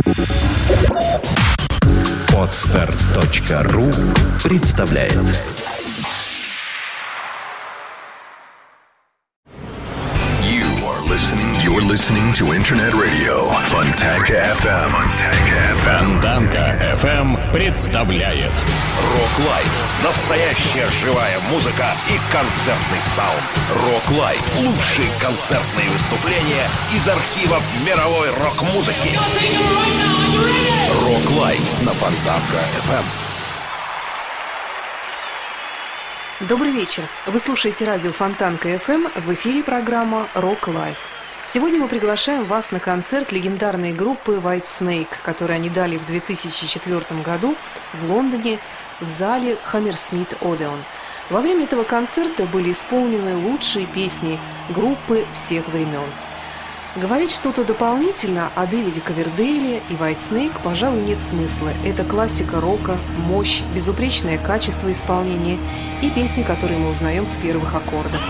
Podster.ru представляет. You're listening to Internet Radio Fontanka FM. Фонтанка FM представляет Рок Лайв. Настоящая живая музыка и концертный саунд. Рок Лайв. Лучшие концертные выступления из архивов мировой рок-музыки. Рок Лайв на Фонтанка FM. Добрый вечер. Вы слушаете радио Фонтанка FM. В эфире программа Рок Лайв. Сегодня мы приглашаем вас на концерт легендарной группы White Snake, который они дали в 2004 году в Лондоне в зале Hammersmith Odeon. Во время этого концерта были исполнены лучшие песни группы всех времен. Говорить что-то дополнительно о Дэвиде Ковердейле и White Snake, пожалуй, нет смысла. Это классика рока, мощь, безупречное качество исполнения и песни, которые мы узнаем с первых аккордов.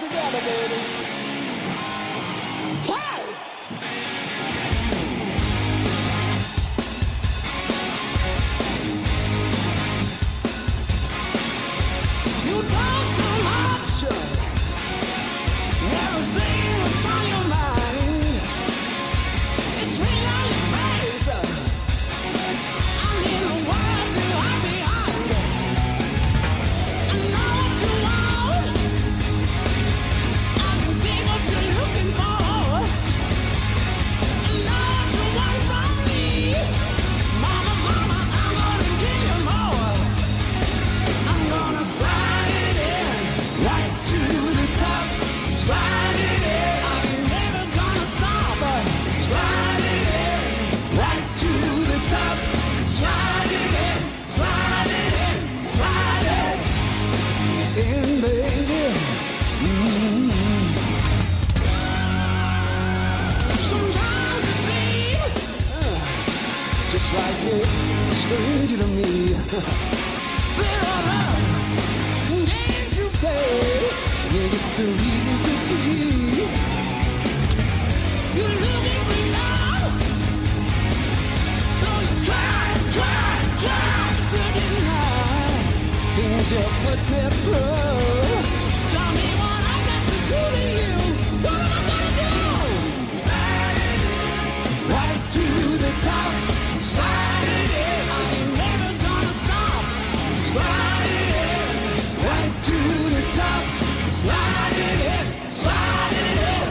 together, baby. Hey! You talk too much. Never say what's on your mind. It's real on your face. I need a word to hide behind. I know what you want. I can see what you're looking for. I know what you want from me. Mama, mama, I'm gonna give you more. I'm gonna slide it in, right to the top. Slide it in, I ain't never gonna stop. Slide it in, right to the top. Slide it in, slide it in, slide it in, baby. Sometimes it seems just like you're a stranger to me. There are love games you play, make it so easy to see. You're looking me now, though you try to deny things you put me through. Tell me what I got to do to you. What am I gonna do? Slide it in, right to the top. Slide it in, I ain't never gonna stop. Slide it in, right to the top. Slide it in, slide it in.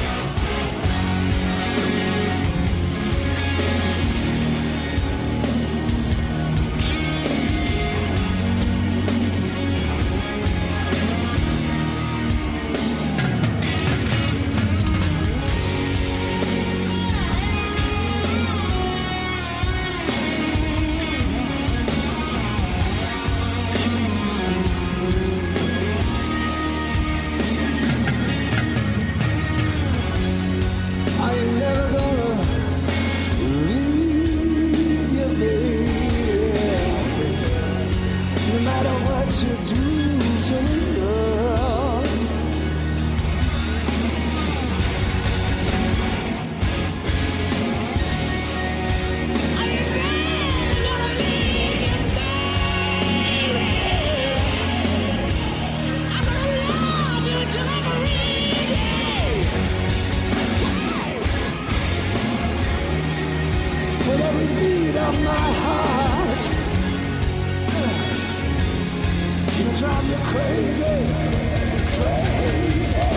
I ain't never gonna leave you, baby. No matter what you do to me, girl. I ain't never gonna leave you, baby. I'm gonna love you till I'm with every beat of my heart, you drive me crazy, crazy.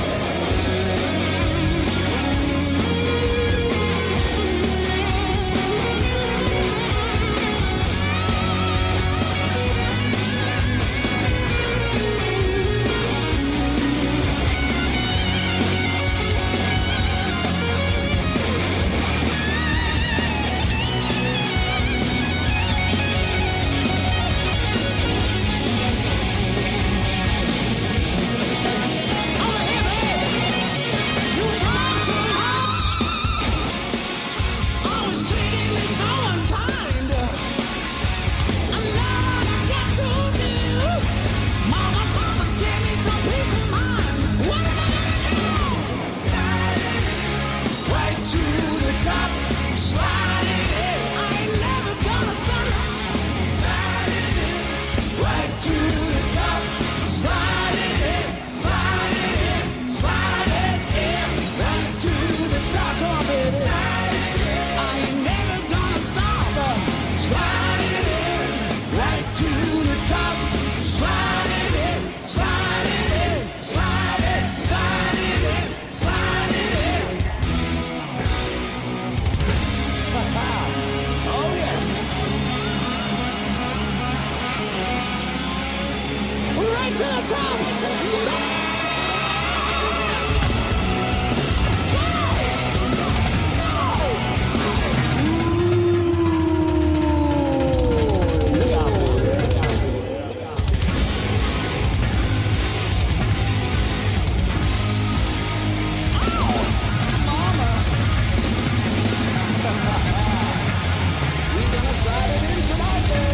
Tonight, baby.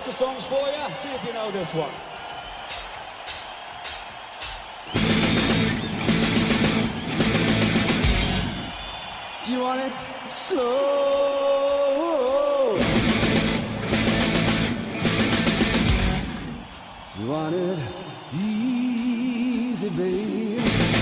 lots of songs for you. See if you know this one. Do you want it slow? Do you want it easy, babe?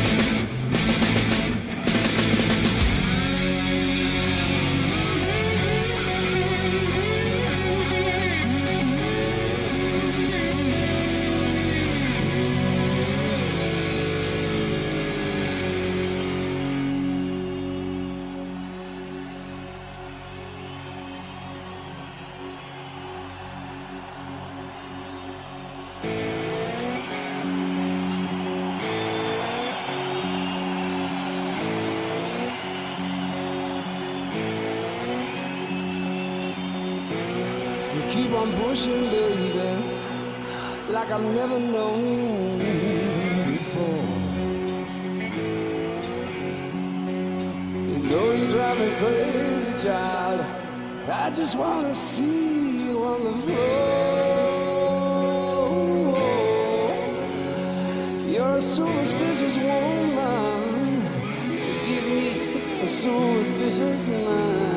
Keep on pushing, baby, like I've never known before. You know you drive me crazy, child. I just wanna see you on the floor. You're a superstitious woman. Give me a superstitious mind.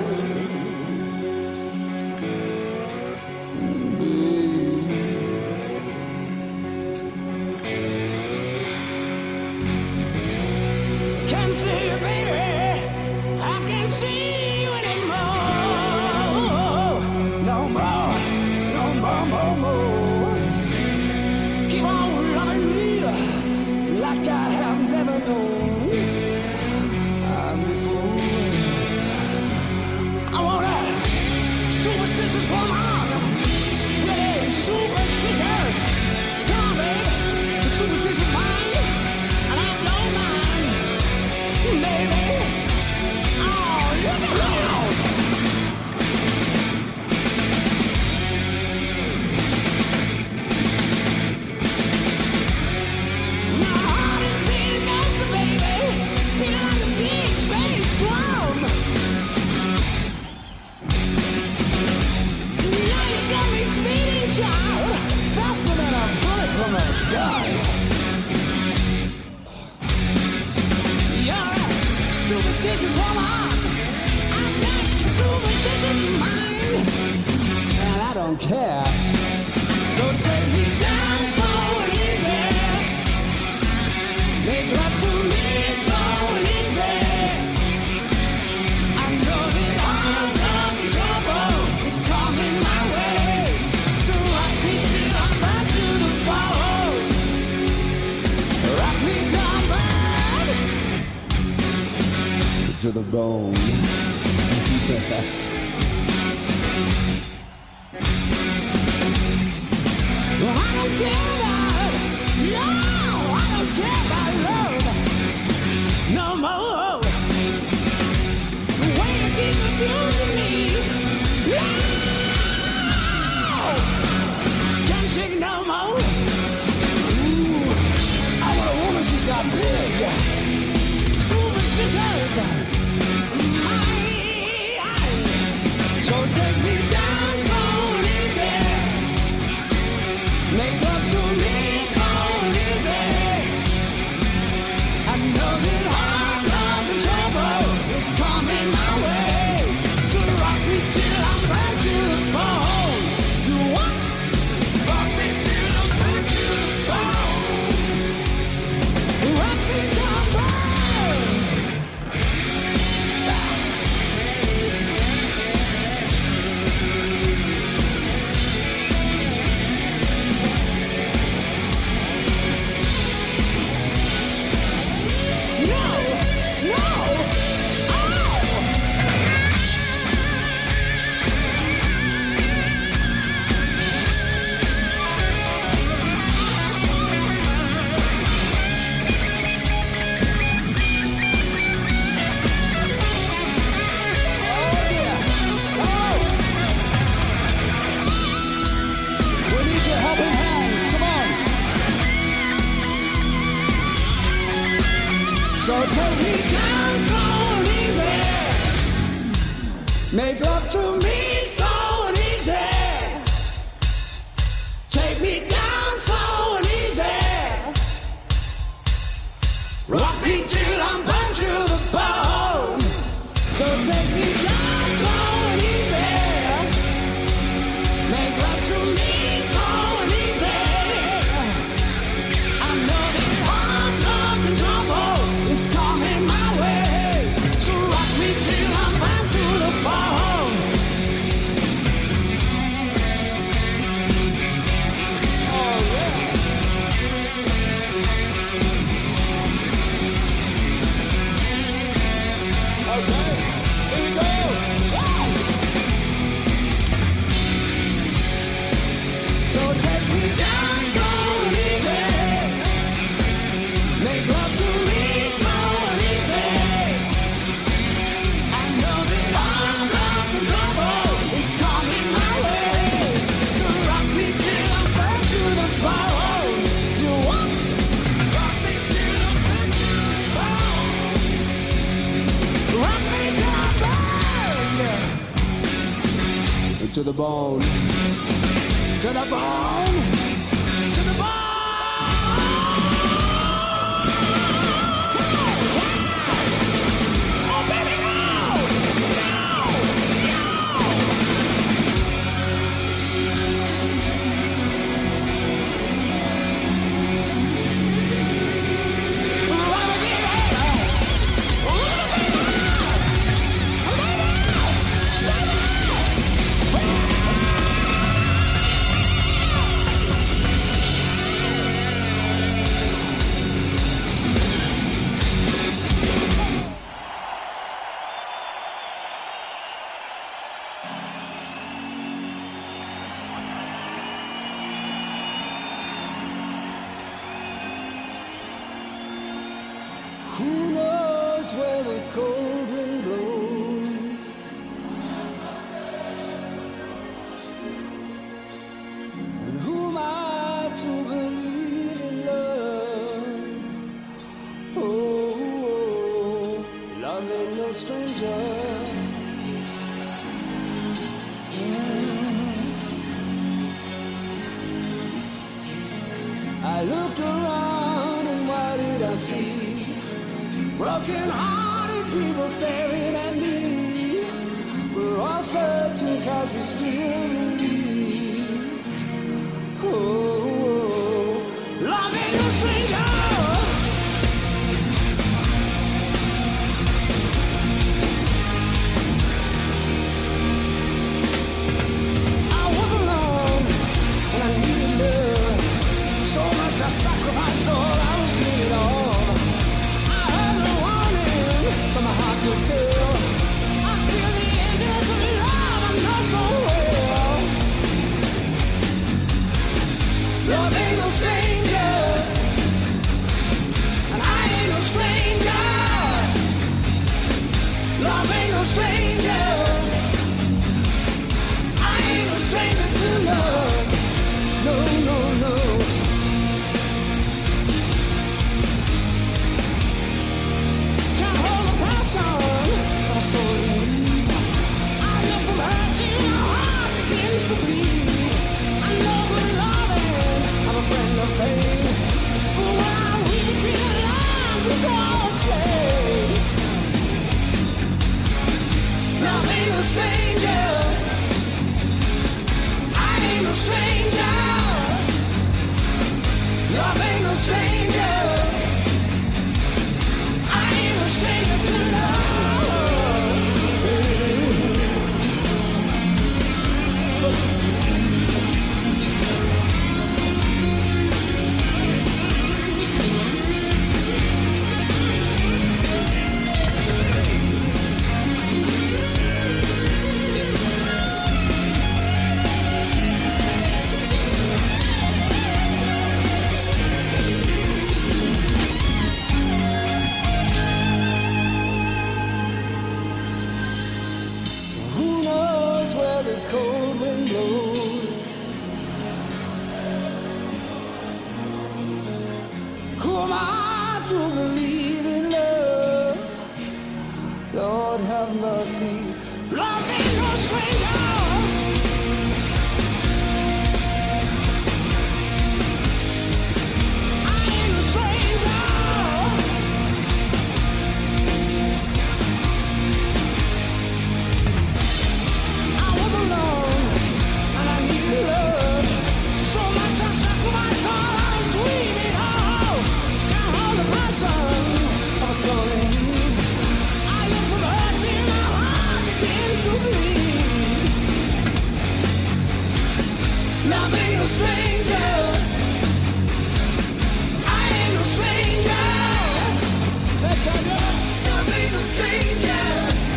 To the bone. Well, I don't care about, no, I don't care about love no more. The way you keep abusing me, no, can't shake no more. Ooh, I want a woman, she's got big, superstitious. So take me down so easy, make love to me so easy. I know that all love and trouble is coming my way. So rock me till I'm back to the bone. Do what? Rock me till I'm back to the bone. Rock me down, bone. So take me down so easy, make love to me so easy. Rock me till I'm burned to the bone. So take me down slow and easy. Make love to me slow and easy. I know this hard love and trouble is coming my way. So rock me till I'm burned to the bone. Oh yeah. Okay, here we go. So take me down slow and easy. Make love to me slow and easy. I know that all love and trouble is coming my way. So rock me till I'm burned to the bone. Do what? Rock me till I'm burned to the bone. Rock me till I'm burned to the bone. To the bone. To the bone. Oh, baby, go! Who knows where the cold wind blows? And who am I to believe in love? Oh, love ain't no stranger. I looked around and what did I see? Broken-hearted people staring at me. We're all searching 'cause we still believe. Oh, love ain't no stranger. I was alone and I needed love. So much I sacrificed all I was giving on. From my heart could tell, I feel the angels of love. I know so well. Love ain't no stranger, and I ain't no stranger. Love ain't no stranger. I ain't no stranger to love. No, no, no. I look from her, see my heart begins to bleed. I know we're loving, I'm a friend of pain. But when I'm weak till the love is all I say. Love ain't no stranger. I ain't no stranger. Love ain't no stranger. I ain't no stranger to love. Cold wind blows. Who am I to believe in love? Lord have mercy. Love ain't no stranger. I ain't no stranger. something new. I look for mercy, my heart begins to bleed. Love ain't no stranger. I ain't no stranger. That's how love ain't no stranger.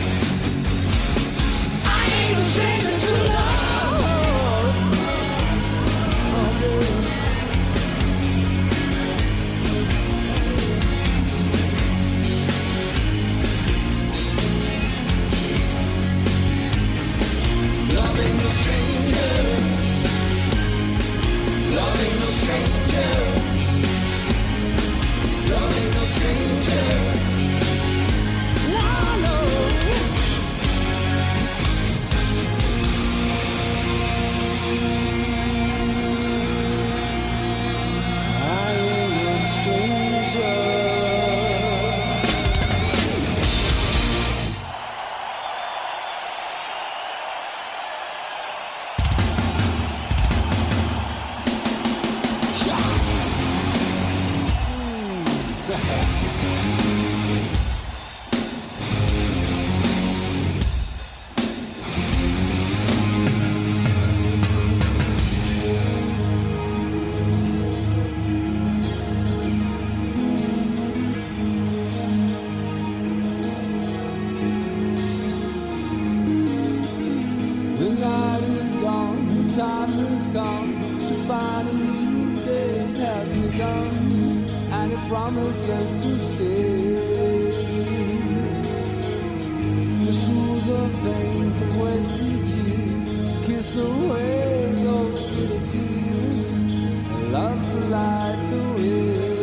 I ain't no stranger to love. Oh, yeah. Love ain't no stranger. Love ain't no stranger. Love ain't no stranger. No, no. I ain't no stranger. The night is gone, the time has come to find a new day has begun, and it promises to stay, to soothe the pains of wasted years, kiss away those bitter tears, and love to light the way.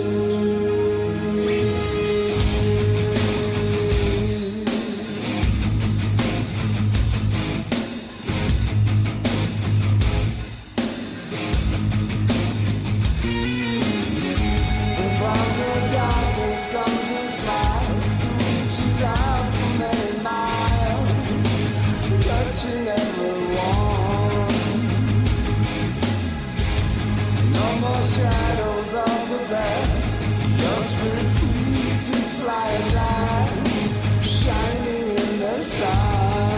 From the darkness comes a smile, reaches out for many miles, touching everyone. No more shadows of the past, your spirit free to fly at last, shining in the sun.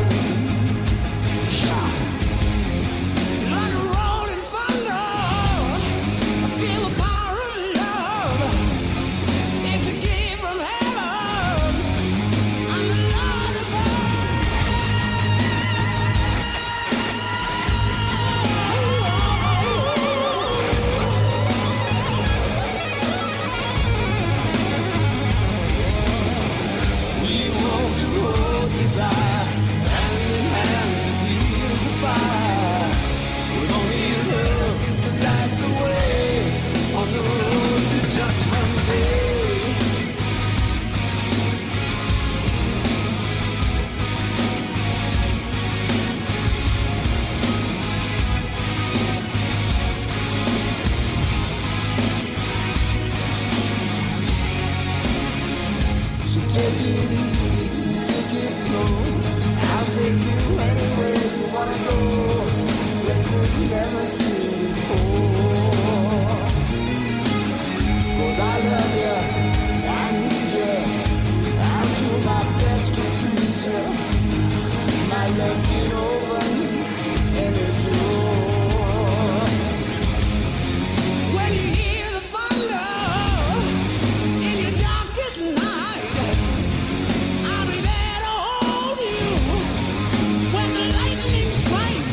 Like a rolling thunder, I feel the power of love. It's a gift from heaven. I'm the Lord above. We want to hold desire, hand in hand to feel the fire. We're gonna need love to light the way on the road to Judgment Day. So take it easy, take it slow. I'll take you anywhere you wanna go, places you never seen before. 'Cause I love you, I need you, I'll do my best to please you. My love can open any door. When you hear the thunder in your darkest night, I'll be there to hold you when the lightning strikes.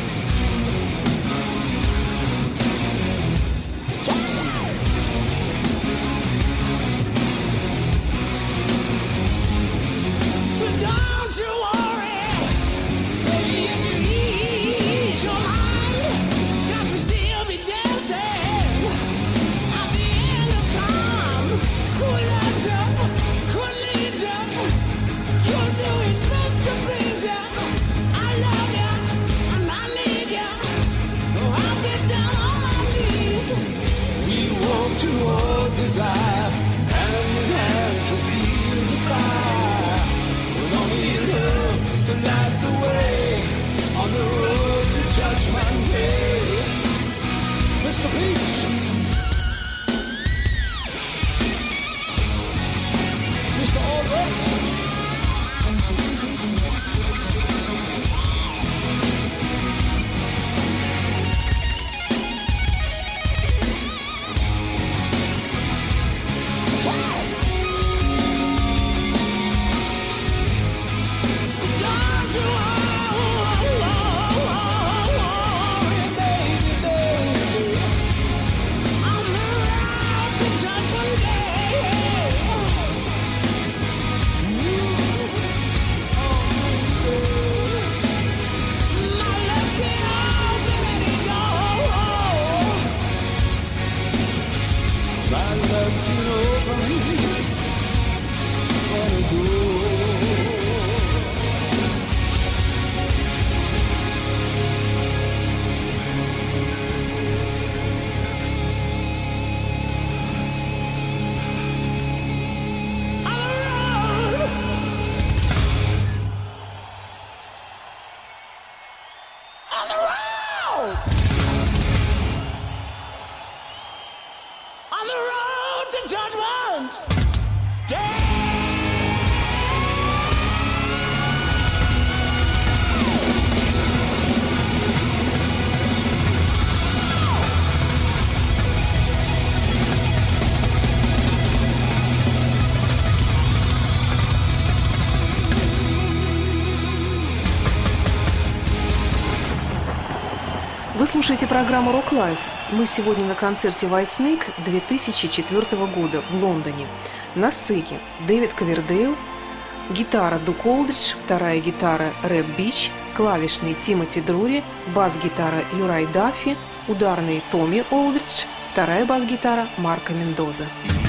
слушаете программу Rock Life. Мы сегодня на концерте Whitesnake 2004 года в Лондоне. На сцене Дэвид Ковердейл, гитара Дук Олдридж, вторая гитара Рэб Бич, клавишный Тимоти Друри, бас-гитара Юрай Даффи, ударный Томми Олдридж, вторая бас-гитара Марко Мендоза.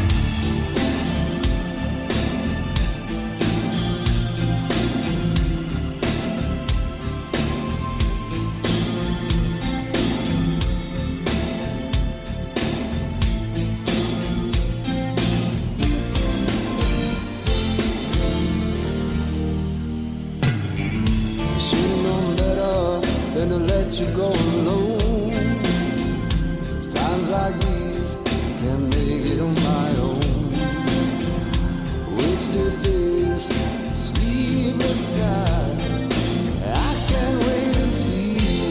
To let you go alone. It's times like these can't make it on my own. Wasted days, sleepless nights. I can't wait to see you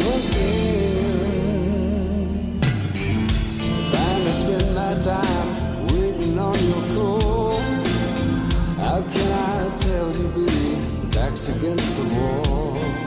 again. Trying to spend my time waiting on your call. How can I tell you, baby, back's against the wall?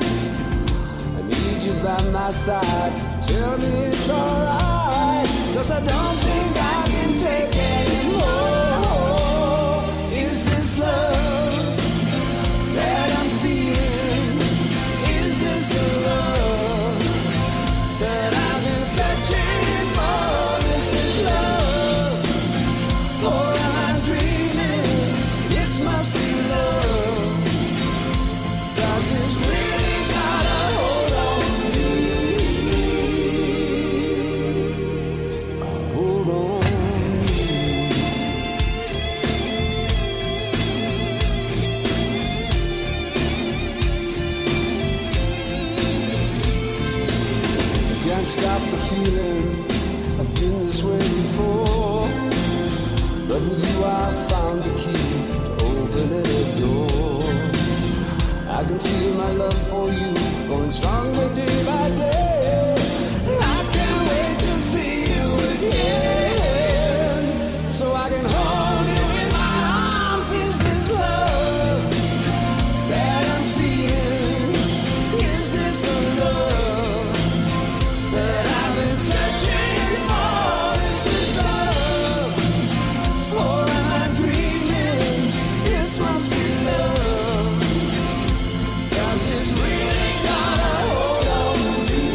You by my side, tell me it's alright, 'cause I don't think I can take anymore. Is this love that I'm feeling? Is this the love that I've been searching for? Is this love, or am I dreaming? This must be love, 'cause it's really got a hold on. Stop the feeling, I've been this way before, but with you I found the key to open any door. I can feel my love for you going stronger day by day. I can't wait to see you again, so I can hold you in my arms. Is this love that I'm feeling? Is this a love that I've been searching for? Is this love, or am I dreaming? This must be love, 'cause it's really got a hold on me.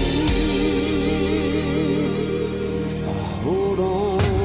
Hold on.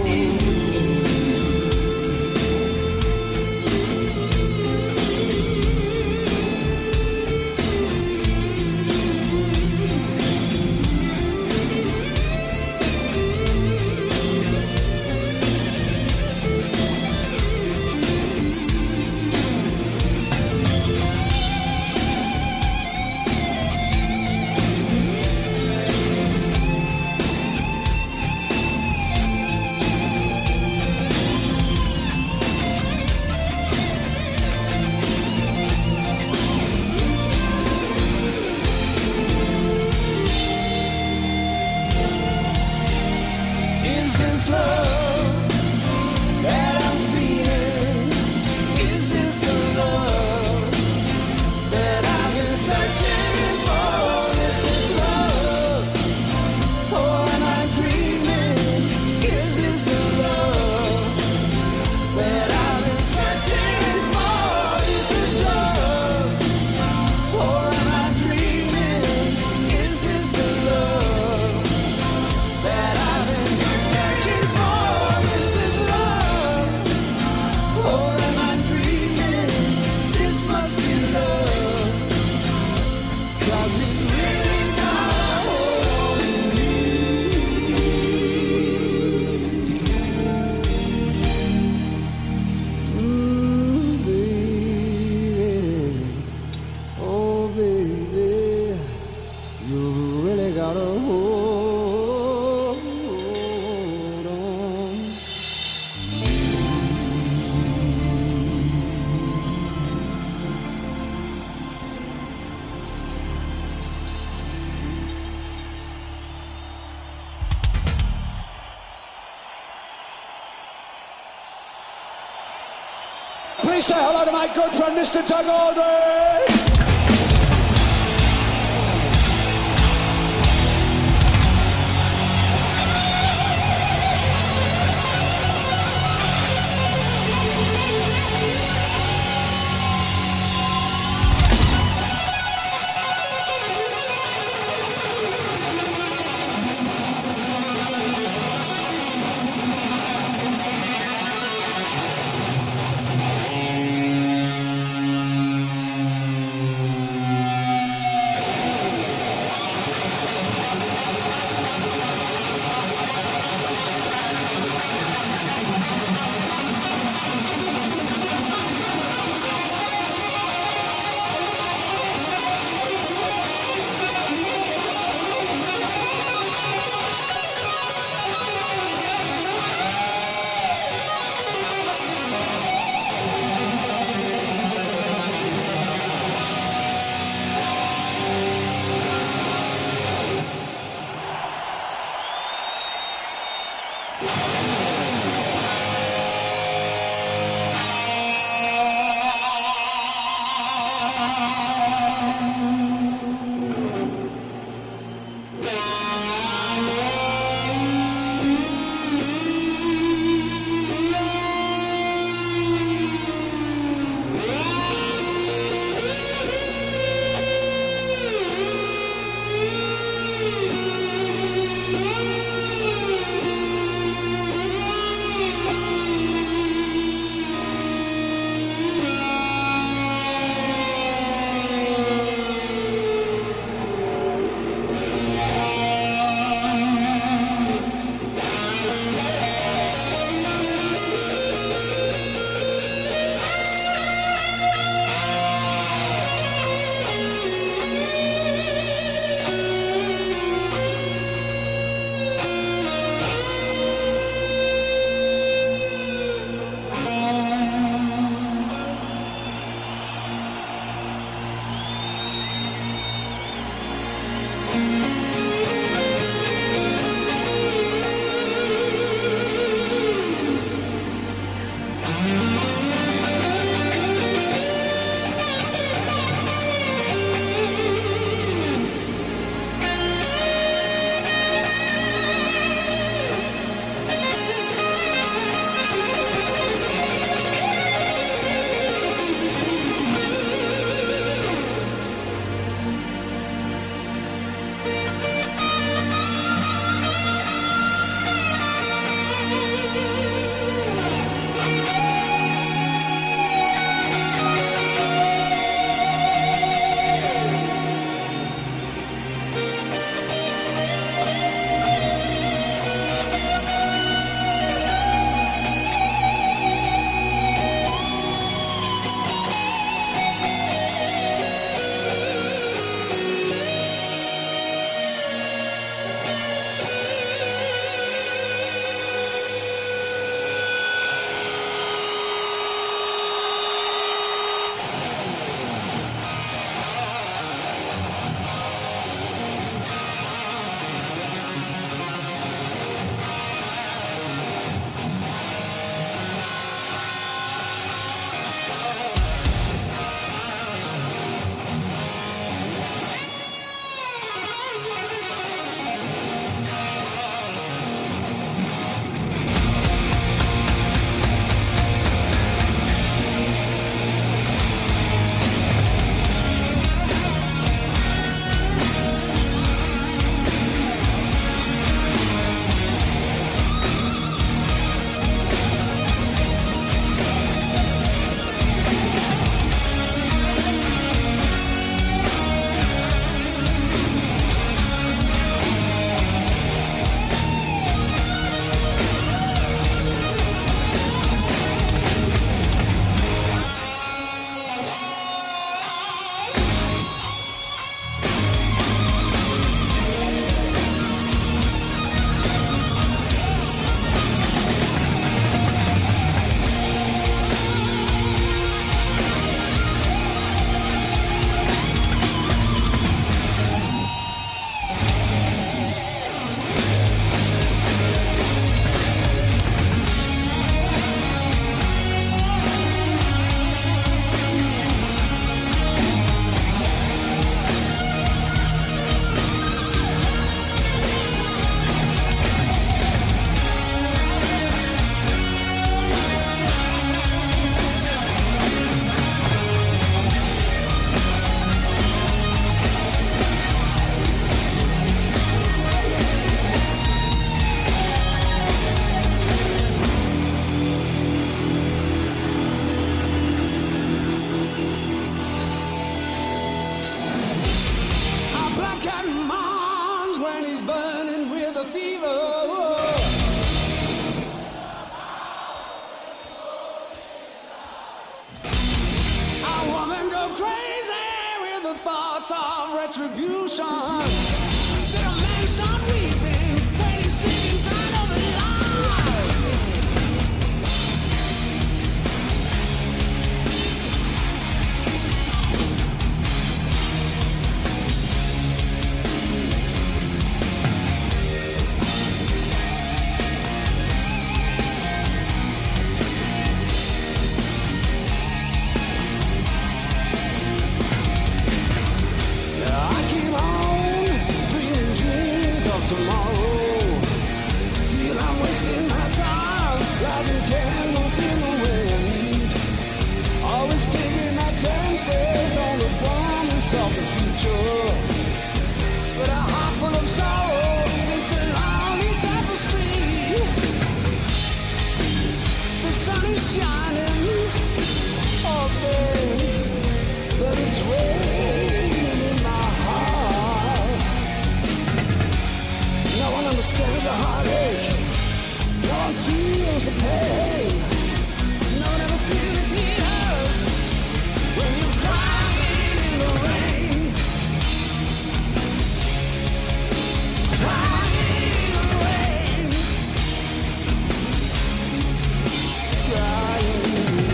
Is this love that I'm feeling? Is this the love that I've been searching for? Is this love, or am I dreaming? Is this the love that I've been searching for? Is this love, or am I dreaming? Is this the love that I've been searching for? Is this love, or am I dreaming? This must be love, 'cause it's really got a hold on me. Baby, oh baby, you really got a hold on. Please say hello to my good friend, Mr. Doug Aldrich. fever. A woman go crazy with the thoughts of retribution. Did a man start weeping when he's sitting tired of his life? I keep on dreaming dreams of tomorrow. Feel I'm wasting my time, lighting candles in the wind. Always taking my chances on the promise of the future. But a heart full of sorrow, it's a lonely tapestry. The sun is shining, oh babe, but it's raining in my heart. No one understands the heartache. No one feels the pain. No one ever sees the tears when you're crying in the rain. Crying in the rain. Crying in the rain.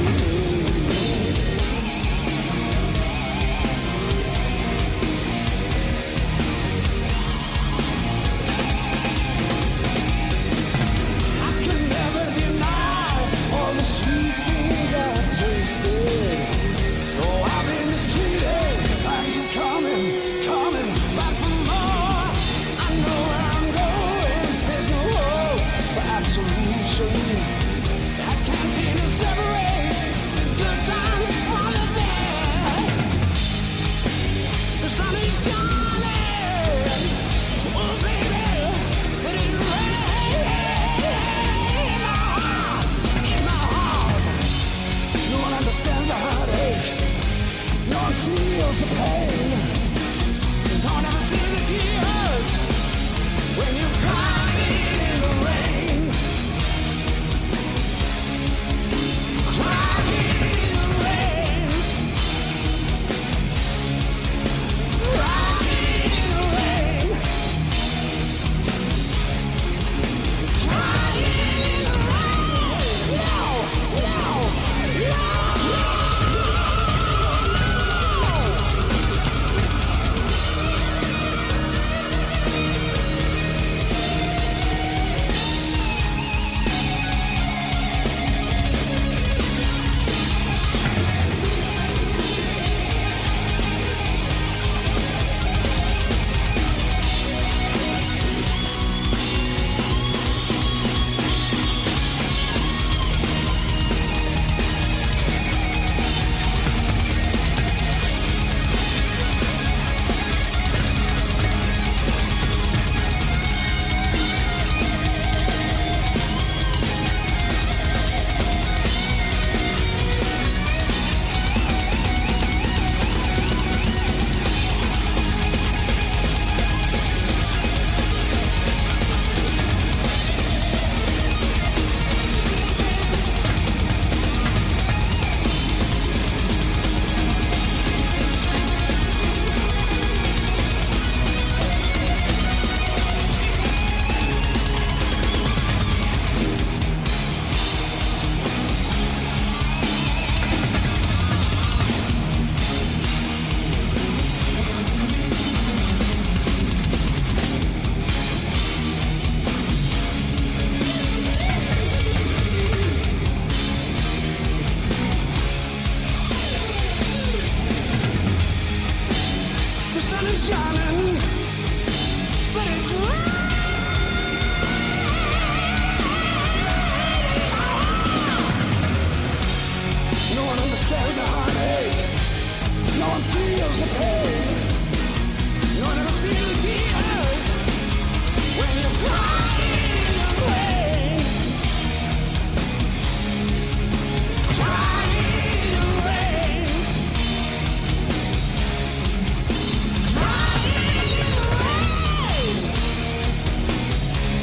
I can never deny all the sweet things I've tasted. Oh, I've been mistreated. Are you coming back for more? I know where I'm going. There's no hope for absolution. I can't seem to separate the good times from the bad. The sun is shining, oh baby, but it's raining in my heart. No one understands the heartache. No one feels the pain. No one ever sees the tears when you're crying in the rain. Crying in the rain. Crying in the rain. Crying in the rain. No, no, no. The sun is shining, but it's raining. No one understands the heartache. No one feels the pain. No one ever sees the tears when you're crying in the rain. Crying in the rain. Crying in the rain.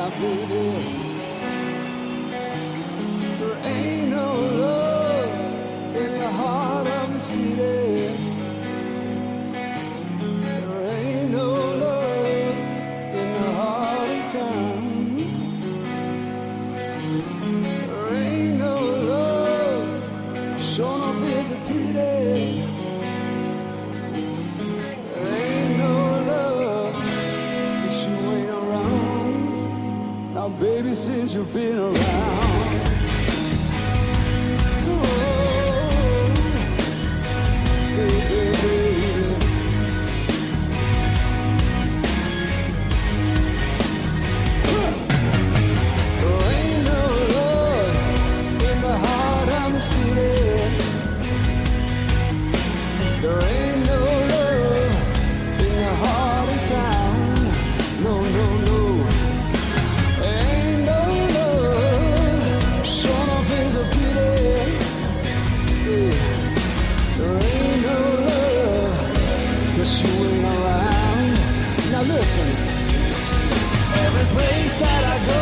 Now, baby, there ain't no love in the heart of the city. There ain't no love in the heart of town. There ain't no love, sure enough is a pity. There ain't no love, 'cause you ain't around. Now, baby, since you've been around, oh, baby, baby. There ain't no love in the heart of the city. There ain't no love in the heart of town. No, no, no. There ain't no love. Sure enough is a pity. Yeah. There ain't no love, 'cause you ain't around. Now listen. Every place that I go,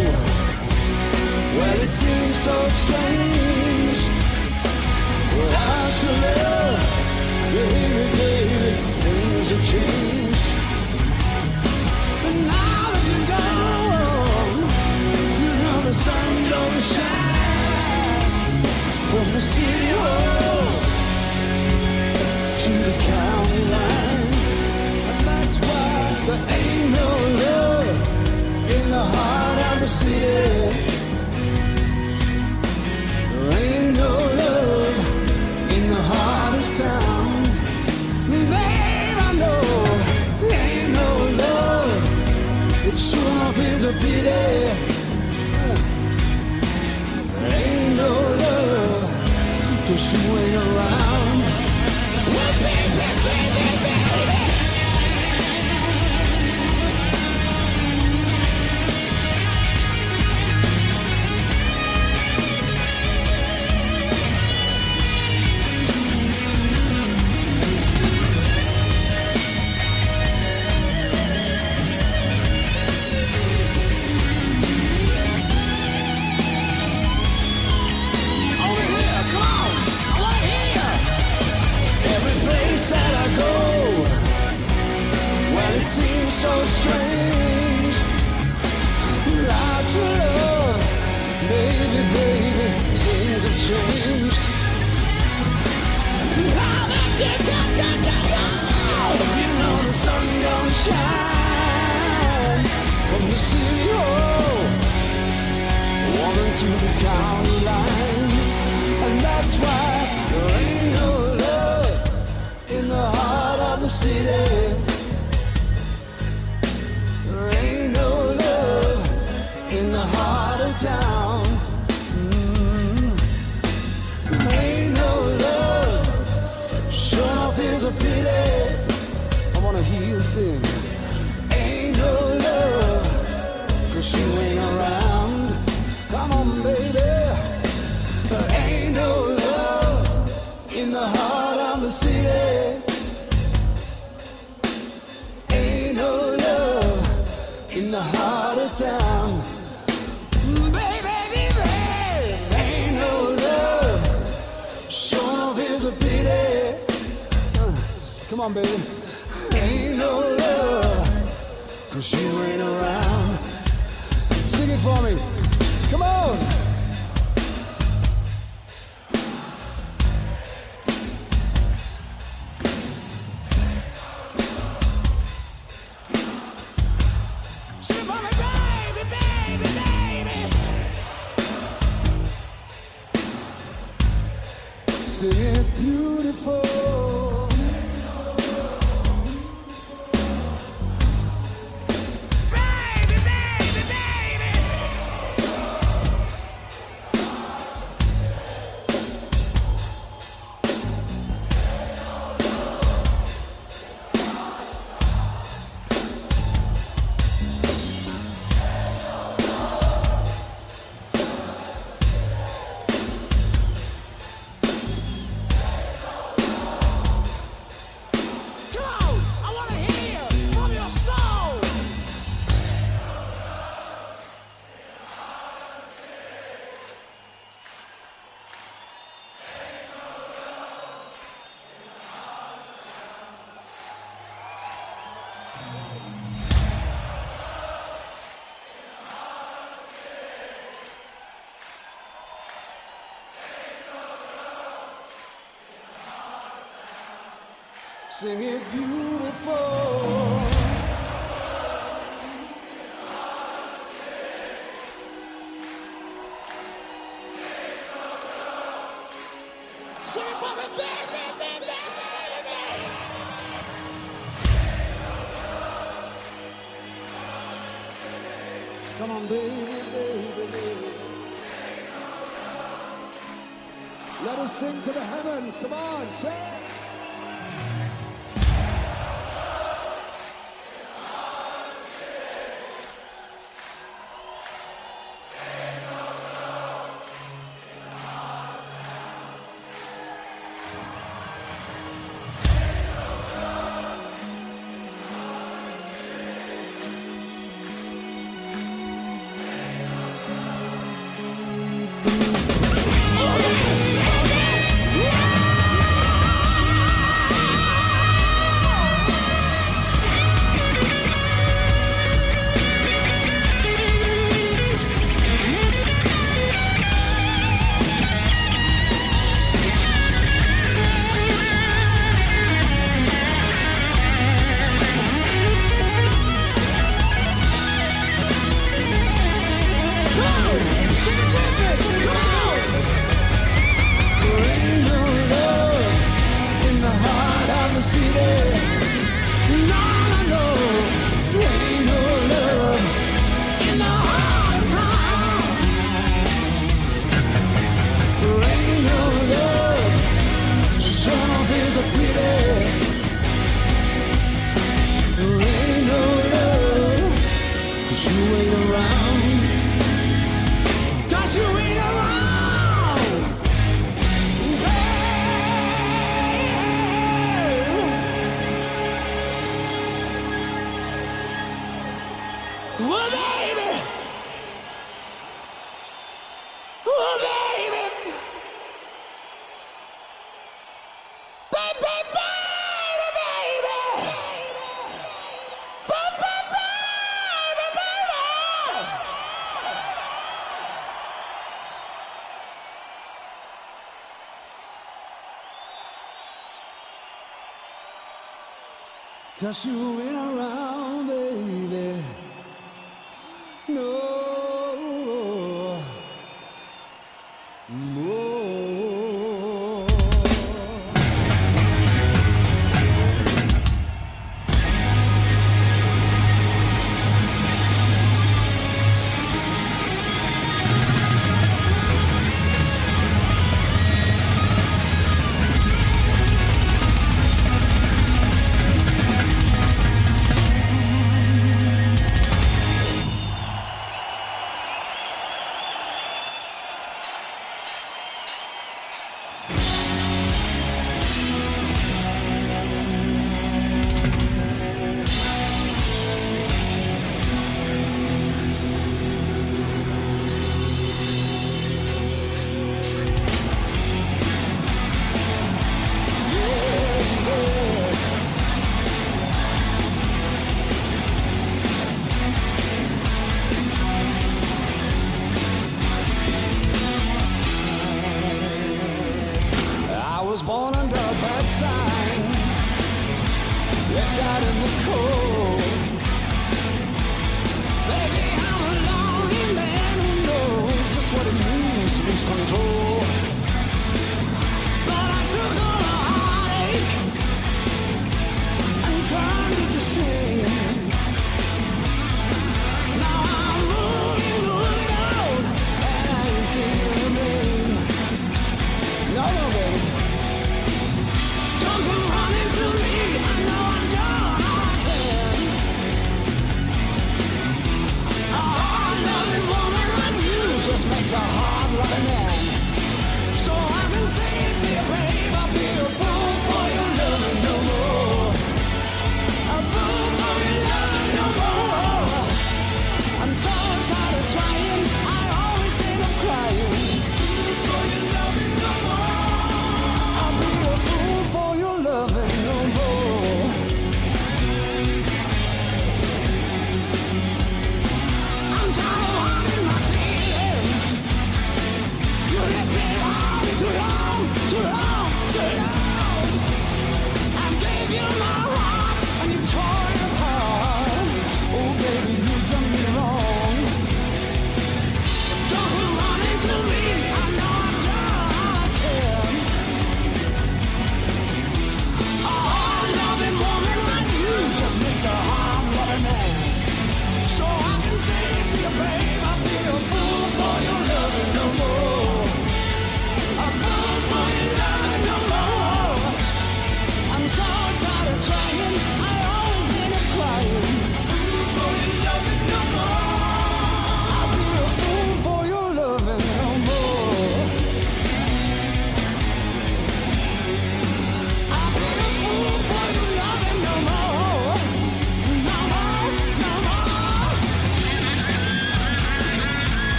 well, it seems so strange. Without your love, baby, baby, things have changed. But now that you're gone, you know the sun don't shine from the city hall to the county line. And that's why there ain't no love in the heart of the city. There ain't no love in the heart of town. Babe, I know there ain't no love. It sure enough is a pity. There ain't no love, 'cause you ain't around. Well, baby, baby, baby. Over here, come on, I wanna hear you. Every place that I go, well, it seems so strange. Without your love, baby, baby, things have changed. Now that you come, you know the sun don't shine from the city hall, walking to the county line. And that's why there ain't no love in the heart of the city. There ain't no love in the heart of town. There ain't no love, sure enough is a pity. I wanna hear you sing. Ain't no love, 'cause you ain't around. Come on, baby. There ain't no love in the heart of the city. Ain't no love in the heart of town. Baby, baby, ain't no love. Sure enough is a pity. Come on, baby. Ain't no love, 'cause you ain't around. Sing it for me. Come on. Sing it for me, baby, baby, baby. Sing it beautiful. Sing it beautiful. Sing it for me, baby, baby, baby. Come on, baby, baby, baby. Let us sing to the heavens. Come on, sing. Cause you ain't around, baby. No. Too long, too long. I gave you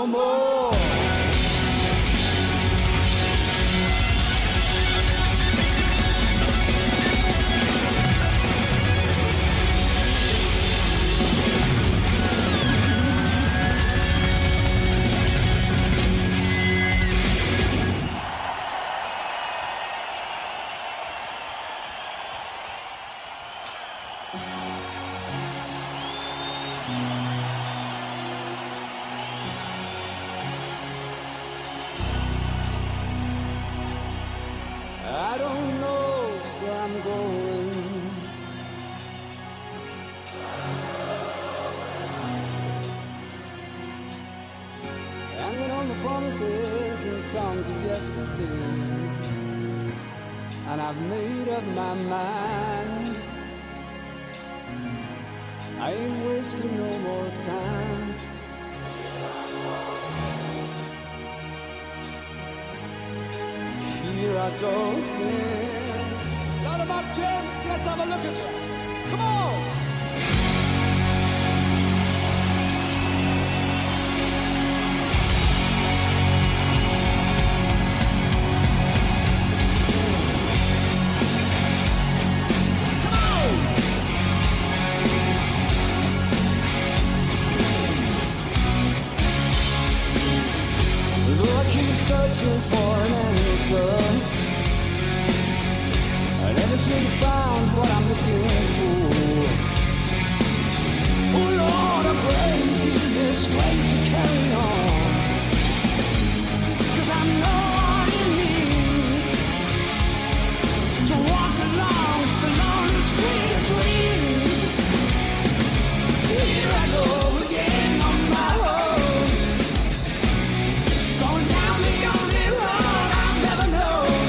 more. I don't know where I'm going. Hanging on the promises and songs of yesterday. And I've made up my mind. I ain't wasting no more time. Here I go again. Round about 10, let's have a look at you. Come on! Searching for an answer. I never seem to find what I'm looking for. Oh Lord, I pray you give me strength to carry on. 'Cause I know what it means to walk along the lonely street of dreams. Here I go again on my own. Going down the only road I've never known.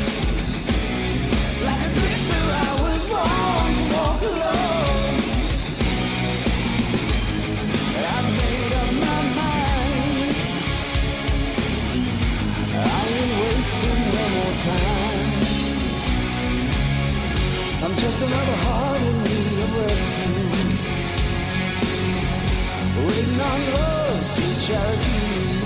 Like a drifter I was born to walk alone. I've made up my mind. I ain't wasting no more time. I'm just another heart in need of rescue, waiting on love's sweet charity.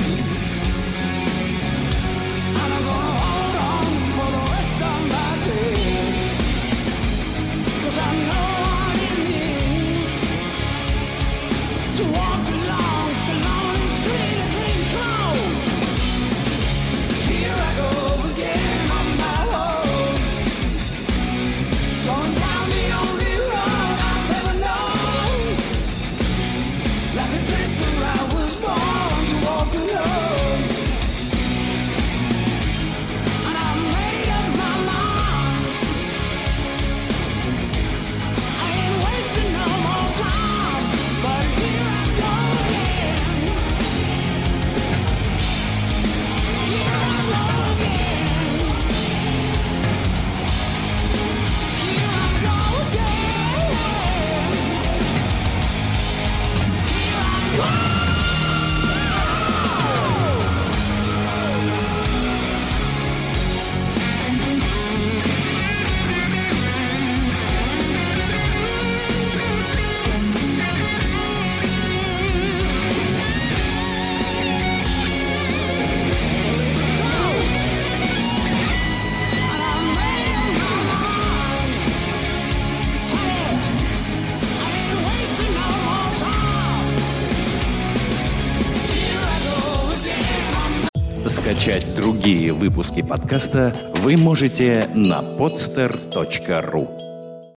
And I'm gonna hold on for the rest of my days. 'Cause I know what it means to walk along the lonely street of dreams. Close. Here I go again on my own. Going down the only road I've ever known. Like a drifter I was born to walk alone. And I made up my mind. I ain't wasting no more time. But here I go again. Here I go again. Here I go again. Here I go. And I made up my mind. Hey, I ain't wasting no more time. Here I go again. Скачать другие выпуски подкаста вы можете на podster.ru.